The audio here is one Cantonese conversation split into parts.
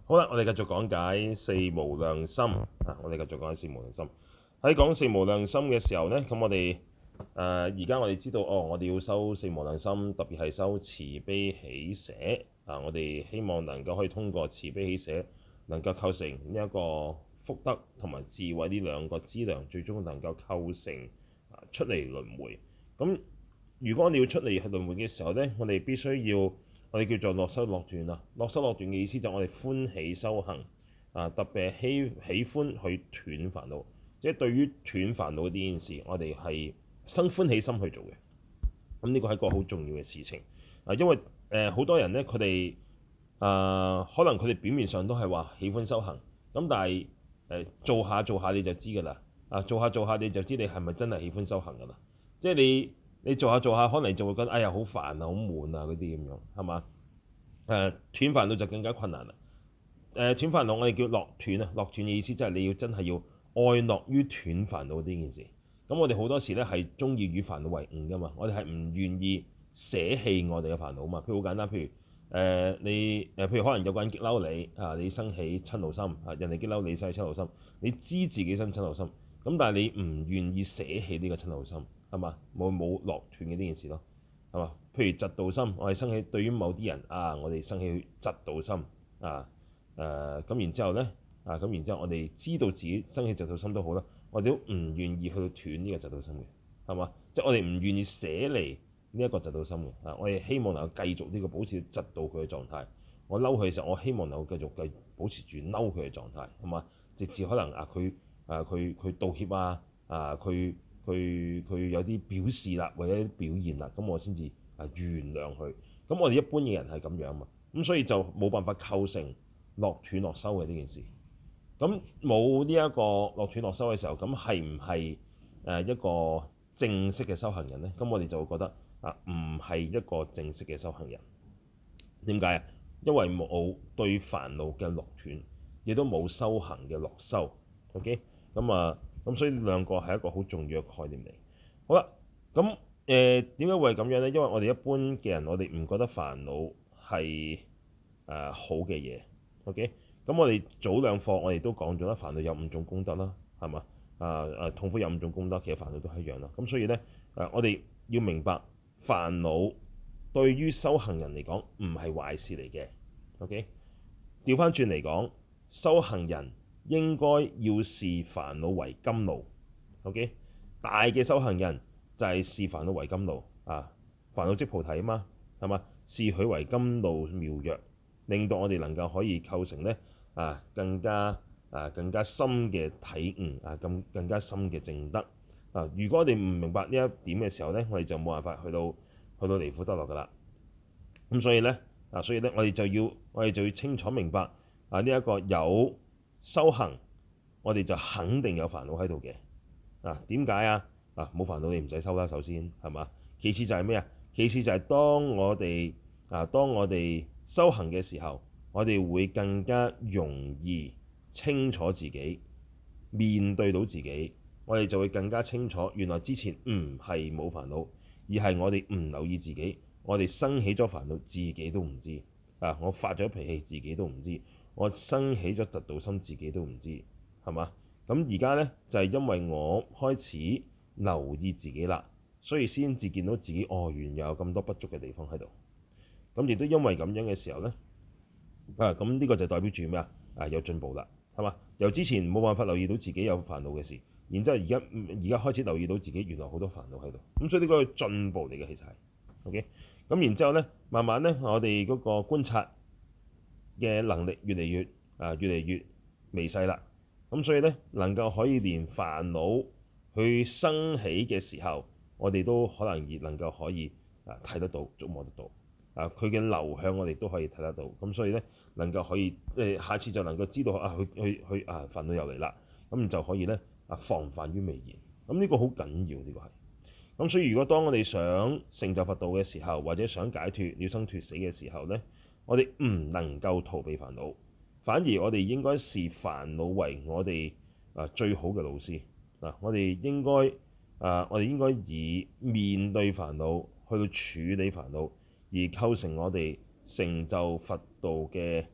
好啦，我哋繼續講解四無量心啊！我哋繼續講解四無量心。喺講四無量心嘅時候呢，咁我哋而家我哋知道我哋要修四無量心，特別係修慈悲喜捨啊！我哋希望能夠可以通過慈悲喜捨，能夠構成呢一個福德同埋智慧呢兩個資糧，最終能夠構成出離輪迴。咁如果我哋要出離輪迴嘅時候呢，我哋必須要我哋叫做樂修樂斷啊！樂修樂斷嘅意思就係我哋歡喜修行啊，特別係喜歡去斷煩惱，即係對於斷煩惱呢件事，我哋係生歡喜心去做嘅。咁呢個係一個好重要嘅事情啊，因為好多人呢，佢哋可能佢哋表面上都係話喜歡修行，咁但係做下做下你就知㗎啦啊！做下做下你就知你係咪真係喜歡修行㗎啦？即係你做下做下，可能就會覺得哎呀好煩啊、好悶啊嗰啲咁樣，係嘛？斷煩惱就更加困難啦。斷煩惱我哋叫樂斷啊，樂斷嘅意思即係你要真係要愛樂於斷煩惱呢件事。咁我哋好多時咧係中意與煩惱為伍㗎嘛，我哋係唔願意捨棄我哋嘅煩惱嘛。譬如好簡單，譬如譬如可能有個人激嬲你啊，你生起瞋怒心啊，人哋激嬲你生起瞋怒心，你知自己生瞋怒心，咁但係你唔願意捨棄呢個瞋怒心，係嘛？冇樂斷嘅呢件事咯，係嘛？譬如嫉妒心，我哋生起對於某啲人啊，我哋生起嫉妒心啊，咁然之後咧咁然之後我哋知道自己生起嫉妒心都好啦，我哋都唔願意去斷呢個嫉妒心嘅，係嘛？即係我哋唔願意捨離呢一個嫉妒心嘅啊，我哋希望能夠繼續呢個保持嫉妒佢嘅狀態。我嬲佢嘅時候，我希望能夠繼續保持住嬲佢嘅狀態，係嘛？直至可能佢道歉佢有啲表示啦，或者啲表現啦，咁我先至原諒佢。咁我哋一般嘅人係咁樣嘛，咁所以就冇辦法構成樂斷樂修嘅呢件事。咁冇呢一個樂斷樂修嘅時候，咁係唔係一個正式嘅修行人呢？咁我哋就會覺得唔係一個正式嘅修行人。點解啊？因為冇對煩惱嘅樂斷，亦都冇修行嘅樂修。OK，咁所以兩個係一個好重要嘅概念嚟。好啦，咁點解會係咁樣呢？因為我哋一般嘅人，我哋唔覺得煩惱係好嘅嘢。OK，咁我哋早兩課我哋都講咗啦，煩惱有五種功德啦，係嘛？痛苦有五種功德，其實煩惱都係一樣啦。咁所以呢，我哋要明白煩惱對於修行人嚟講唔係壞事嚟嘅。OK，調翻轉嚟講，修行人應該要視煩惱為甘露。OK，大嘅修行人就係視煩惱為甘露啊，煩惱即菩提啊嘛，係嘛？視佢為甘露妙藥，令到我哋能夠可以構成咧更加深嘅體悟更加深嘅證德啊！如果我哋唔明白呢一點嘅時候咧，我哋就冇辦法去到離苦得樂噶啦。咁所以咧我哋就要清楚明白呢一個有修行，我哋就肯定有煩惱喺度嘅。點解啊？冇煩惱你唔使修啦，首先係嘛？其次就係咩啊？其次就係當我哋修行嘅時候，我哋會更加容易清楚自己，面對到自己，我哋就會更加清楚，原來之前唔係冇煩惱，而係我哋唔留意自己，我哋生起咗煩惱，自己都唔知我發咗脾氣，自己都唔知，我生起咗嫉妒心，自己都唔知，係嘛？咁而家呢，就係因為我開始留意自己啦，所以先至見到自己原來有咁多不足嘅地方喺度。咁亦都因為咁樣嘅時候呢，咁呢個就代表住咩啊？有進步啦，係嘛？由之前冇辦法留意到自己有煩惱嘅事，然之後而家開始留意到自己原來好多煩惱喺度，咁所以呢個係進步嚟嘅，其實係 OK。咁然之後呢，慢慢呢，我哋嗰個觀察嘅能力越嚟越微細啦。咁所以呢，能夠可以連煩惱去生起嘅時候，我哋都可能能夠可以睇得到、觸摸得到佢嘅流向，我哋都可以睇得到。咁所以呢，能夠可以下次就能夠知道去煩惱又嚟啦，咁就可以呢防範於未然。咁呢個好緊要，呢個係。咁所以如果當我哋想成就佛道嘅時候，或者想解脫了生脫死嘅時候呢，我哋唔能夠逃避煩惱。反而我哋應該視煩惱為我哋最好嘅老師。我哋應該以面對煩惱去到處理煩惱，而構成我哋成就佛道嘅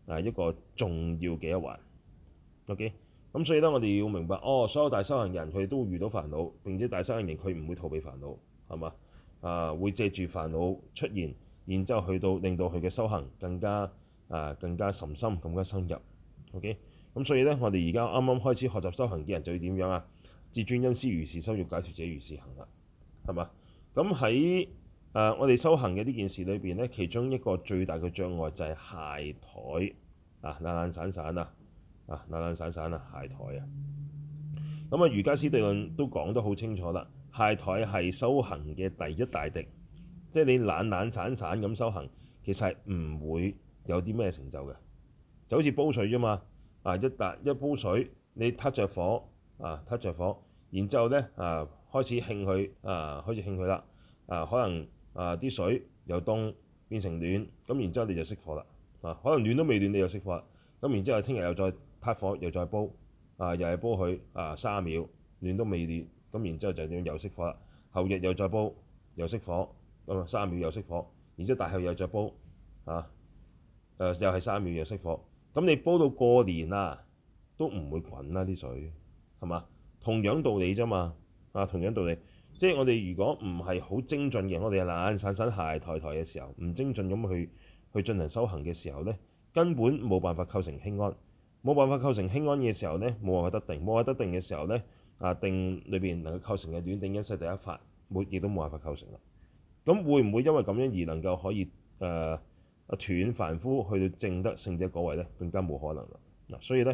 一個重要嘅一環。OK，咁所以咧，我哋要明白，所有大修行人佢哋都會遇到煩惱，並且大修行人佢唔會逃避煩惱，係嘛？會借住煩惱出現，然之後去到令到佢嘅修行更加甚深、更加深入。OK，咁所以咧，我哋而家啱啱開始學習修行嘅人就要點樣啊？自尊恩師如是修，欲解脫者如是行啦，係嘛？咁喺我哋修行嘅呢件事裏邊咧，其中一個最大嘅障礙就係懈怠懶懶散散啊，懶懶散散啊，懈怠啊。咁瑜伽師地論都講得好清楚啦，懈怠係修行嘅第一大敵，即係你懶懶散散咁修行，其實係唔會有啲咩成就嘅，就好似煲水啫嘛。一煲水，你撻着火撻着火，然之後咧開始興佢啦，可能啲水由凍變成暖，咁然之後你就熄火啦。可能暖都未暖你就熄火啦，咁然之後聽日又再撻火又再煲，又係煲佢30秒，暖都未暖，咁然之後就點又熄火啦。後日又再煲又熄火，咁30秒又熄火，然之後大後又再煲又係30秒又熄火。咁你煲到過年都唔會滾啦啲水，係嘛？同樣道理啫嘛。同樣道理，即係我哋如果唔係好精進嘅，我哋係懶懶散散懈怠嘅時候，唔精進咁去進行修行嘅時候咧，根本冇辦法構成輕安，冇辦法構成輕安嘅時候咧，冇辦法得定，冇辦法得定嘅時候咧，定裏邊能夠構成嘅暖頂因勢第一法，亦都冇辦法構成啦。咁會唔會因為咁樣而能夠可以斷凡夫去到證得聖者嗰位咧？更加冇可能啦。所以咧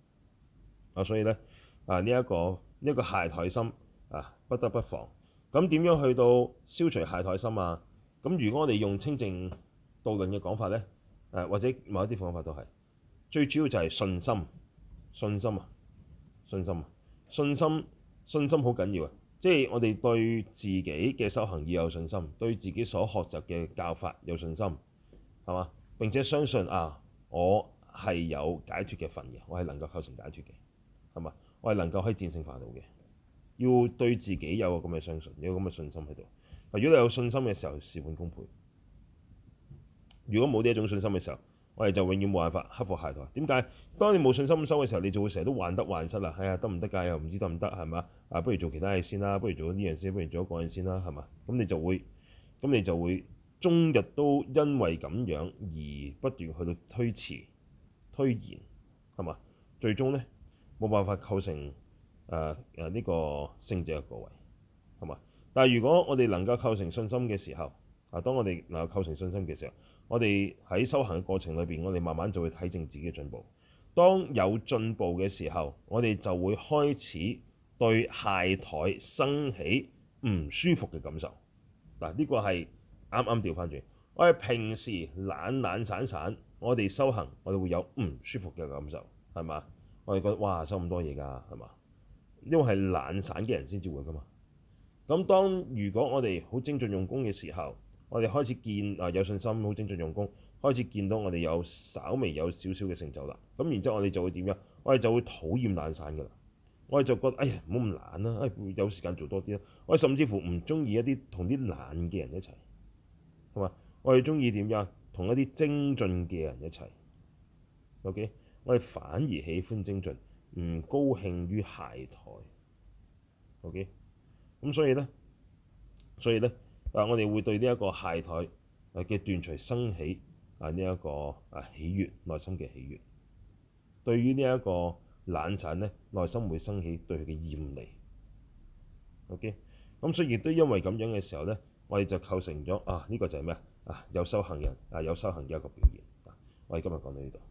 呢一個懈怠心不得不防。咁點樣去到消除懈怠心啊？咁如果我哋用清淨道論嘅講法咧，或者某一啲方法都係最主要就係信心，信心好緊要啊！即係我哋對自己嘅修行要有信心，對自己所學習嘅教法有信心，係嘛？並且相信我係有解脫嘅份嘅，我係能夠構成解脫嘅，係嘛？我係能夠可以戰勝煩惱嘅。要對自己有個咁嘅相信，有個咁嘅信心喺度。如果你有信心嘅時候，事半功倍。如果冇呢一種信心嘅時候，我哋就永遠冇辦法克服懈怠。點解？當你冇信心收嘅時候，你就會成日都患得患失啦。得唔得㗎？又唔知得唔得，係嘛？不如做其他嘢先啦，不如做呢樣先，不如做嗰樣先啦，係嘛？咁你就會終日都因為咁樣而不斷去到推遲、推延，係嘛？最終咧冇辦法構成呢個聖者嘅果位，係嘛？但係如果我哋能夠構成信心嘅時候，當我哋能夠構成信心嘅時候，我哋喺修行嘅過程裏邊，我哋慢慢就會睇正自己嘅進步。當有進步嘅時候，我哋就會開始對懈怠生起唔舒服嘅感受。呢個係啱啱調翻轉。我哋平時懶懶散散，我哋修行，我哋會有唔舒服嘅感受，係嘛？我哋覺得哇，收咁多嘢㗎，係嘛？因為係懶散嘅人先至會㗎嘛。咁如果我哋好精進用功嘅時候，我哋開始見有信心，好精進用功，開始見到我哋稍微有少少嘅成就啦。咁然之後我哋就會點樣？我哋就會討厭懶散㗎啦。我哋就覺得唔好咁懶啦，有時間做多啲啦。我哋甚至乎唔中意同啲懶嘅人一齊，係嘛？我哋中意點樣？同一啲精進嘅人一齊。OK， 我哋反而喜歡精進，唔高興於懈怠。OK， 咁所以咧，我哋會對呢一個懈怠嘅斷除生起呢一個喜悅，內心嘅喜悅。對於呢一個懶散咧，內心會生起對佢嘅厭離。OK， 咁所以亦都因為咁樣嘅時候咧，我哋就構成咗呢個就係咩有修行人有修行嘅一個表現。我哋今日講到呢度。